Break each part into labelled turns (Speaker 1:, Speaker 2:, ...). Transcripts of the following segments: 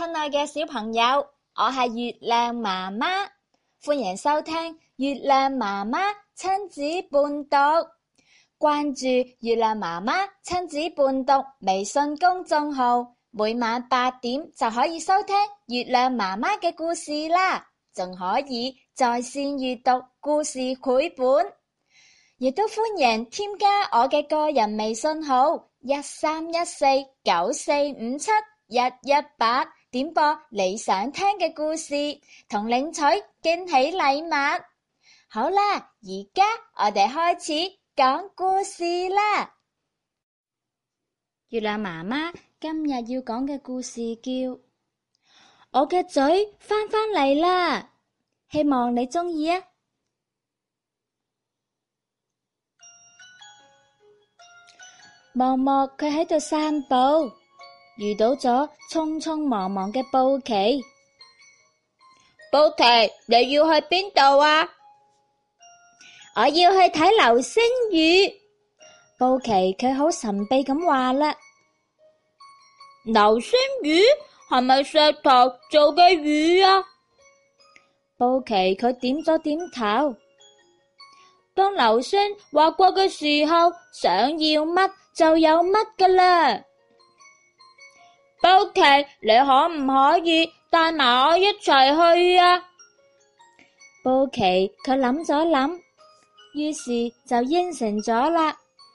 Speaker 1: 親愛嘅小朋友，我係月亮媽媽，歡迎收聽月亮媽媽親子伴讀。關注月亮媽媽親子伴讀微信公眾號，每晚8點就可以收聽月亮媽媽嘅故事啦，仲可以在線閱讀故事繪本，亦都歡迎添加我嘅個人微信號131494571181，點播你想聽嘅故事，同領取驚喜禮物。好啦，而家我哋開始講故事啦。月亮媽媽今日要講嘅故事叫《我嘅嘴返嚟啦》，希望你鍾意啊！默默佢喺度散步，遇到咗匆匆忙忙嘅布奇。布奇，你要去邊度啊？我要去睇流星雨。布奇佢好神秘咁話啦。流星雨係咪石頭做嘅雨啊？布奇佢點咗點頭。當流星劃過嘅時候，想要乜就有乜㗎啦。布奇，你可唔可以帶埋我一齊去啊？布奇佢諗咗諗，於是就應承咗啦。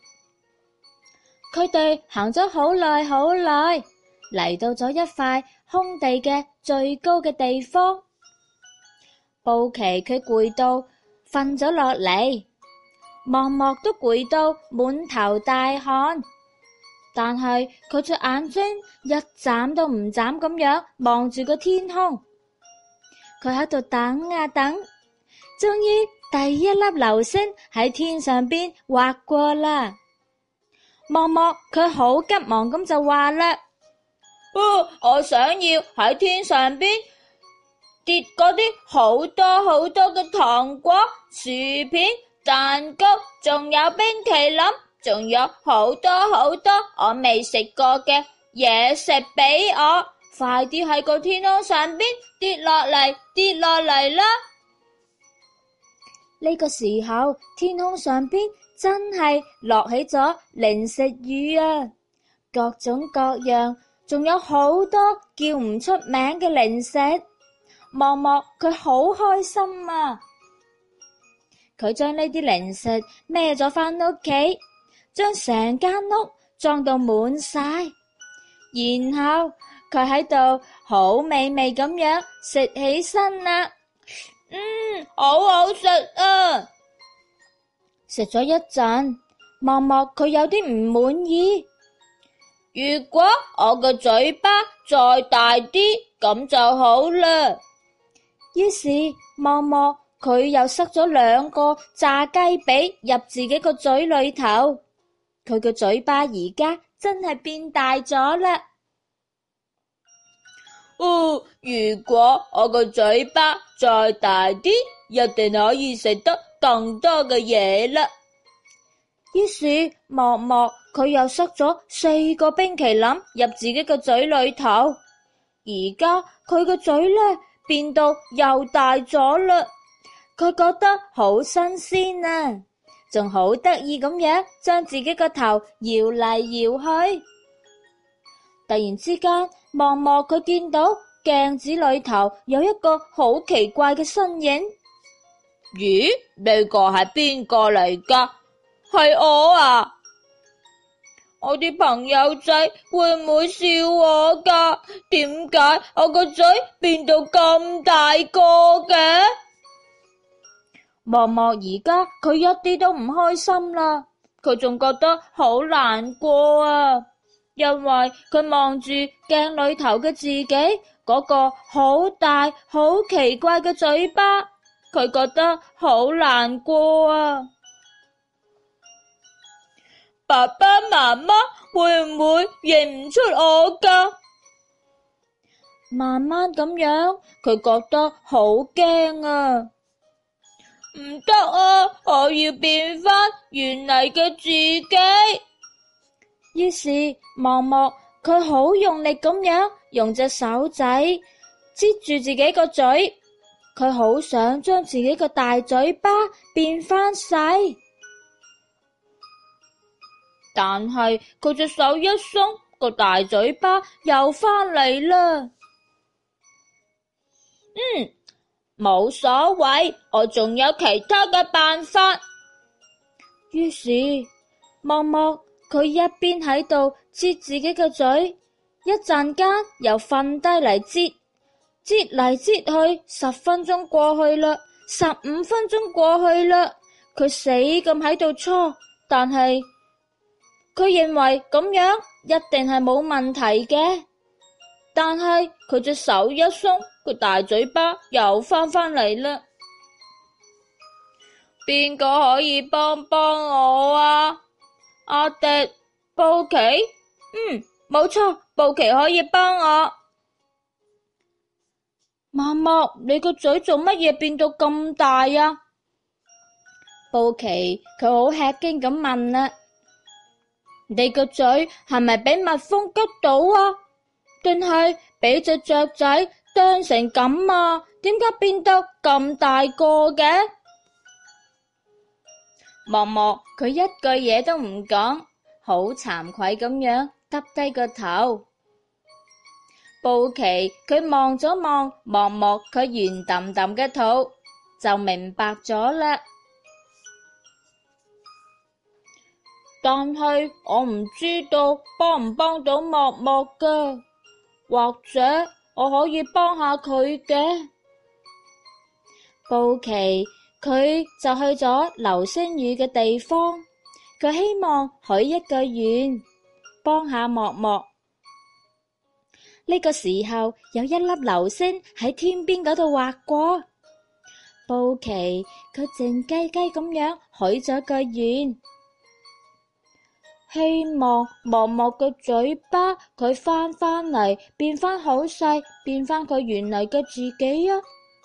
Speaker 1: 佢哋行咗好耐好耐，嚟到咗一塊空地嘅最高嘅地方。布奇佢攰到瞓咗落嚟，默默都攰到滿頭大汗，但係佢隻眼睛一眨都唔眨咁樣望住個天空。佢喺度等啊等，終於第一粒流星喺天上邊劃過啦。默默佢好急忙咁就話啦，我想要喺天上邊跌嗰啲好多好多嘅糖果、薯片、蛋糕，仲有冰淇淋，仲有好多好多我未食過嘅嘢食俾我，快啲喺個天空上邊跌落嚟啦！呢個時候，天空上邊真係落起咗零食雨啊，各種各樣，仲有好多叫唔出名嘅零食。默默佢好開心啊！佢將呢啲零食孭咗返屋企，將成間屋裝到滿晒，然後佢喺度好美味咁樣食起身啦。好好食啊！食咗一陣，默默佢有啲唔滿意。如果我個嘴巴再大啲，咁就好啦。於是默默佢又塞咗2個炸雞髀入自己個嘴裏頭，佢個嘴巴而家真係變大咗啦。如果我個嘴巴再大啲，一定可以食得更多嘅嘢啦。於是默默佢又塞咗4個冰淇淋入自己個嘴裏頭，而家佢個嘴呢變到又大咗啦。佢覺得好新鮮啊，仲好得意咁樣將自己個頭搖嚟搖去。突然之間，默默佢見到鏡子裏頭有一個好奇怪嘅身影。咦？呢個係邊個嚟㗎？係我啊！我啲朋友仔會唔會笑我㗎？點解我個嘴變到咁大個嘅？默默而家佢一啲都唔開心啦，佢仲覺得好難過啊，因為佢望住鏡裏頭嘅自己嗰個好大好奇怪嘅嘴巴，佢覺得好難過啊。爸爸媽媽會唔會認唔出我㗎？慢慢咁樣，佢覺得好驚啊！唔得啊！我要變返原嚟嘅自己。於是默默佢好用力咁樣用隻手仔擠住自己個嘴，佢好想將自己個大嘴巴變返細，但係佢隻手一鬆，個大嘴巴又返嚟啦。冇所謂，我仲有其他嘅辦法。於是默默佢一邊喺度擠自己嘅嘴，一陣間又瞓低嚟擠，擠嚟擠去，10分鐘過去啦，15分鐘過去啦，佢死咁喺度搓，但係佢認為咁樣一定係冇問題嘅，但係佢隻手一鬆，個大嘴巴又返嚟啦。邊個可以幫我啊？阿迪、布奇？冇錯，布奇可以幫我。默默，你個嘴做乜嘢變到咁大啊？布奇佢好吃驚咁問啦。你個嘴係咪俾蜜蜂吉到啊？定係俾隻雀仔啄成咁啊？點解變得咁大個嘅？默默佢一句嘢都唔講，好慚愧咁樣耷低個頭。布奇佢望咗望默默佢圓揼揼嘅肚，就明白咗啦。但係我唔知道幫唔幫到默默㗎，或者我可以幫下佢嘅。布奇佢就去咗流星雨嘅地方，佢希望許一個願，幫下默默。呢個時候有一粒流星喺天邊嗰度劃過，布奇佢靜雞雞咁樣許咗個願，希望默默嘅嘴巴佢翻嚟，變翻好細，變翻佢原嚟嘅自己啊！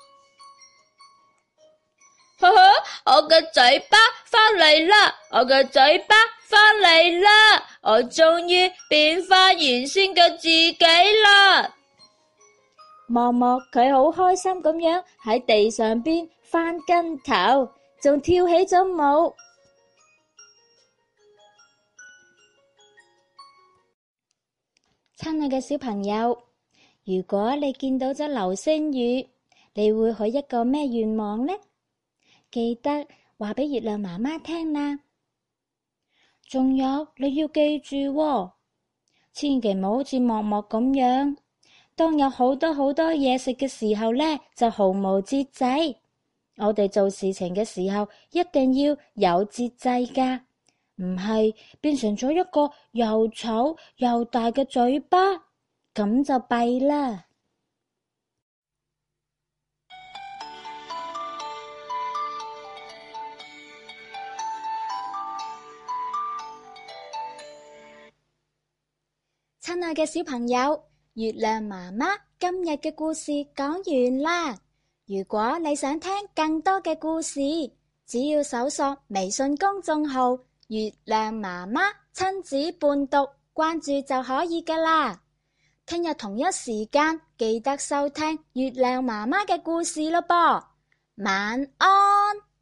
Speaker 1: 呵呵，我嘅嘴巴翻嚟啦！我嘅嘴巴翻嚟啦！我終於變翻原先嘅自己啦！默默佢好開心咁樣喺地上邊翻跟頭，仲跳起咗舞。親愛嘅小朋友，如果你見到咗流星雨，你會許一個咩願望呢？記得話俾月亮媽媽聽啦。仲有你要記住喎，千祈唔好好似默默咁樣，當有好多嘢食嘅時候呢，就毫無節制。我哋做事情嘅時候一定要有節制噶，唔係變成咗一個又醜又大嘅嘴巴，咁就弊啦。親愛嘅小朋友，月亮媽媽今日嘅故事講完啦。如果你想聽更多嘅故事，只要搜索微信公眾號月亮媽媽親子伴讀，關注就可以㗎啦。聽日同一時間記得收聽月亮媽媽嘅故事咯噃。晚安。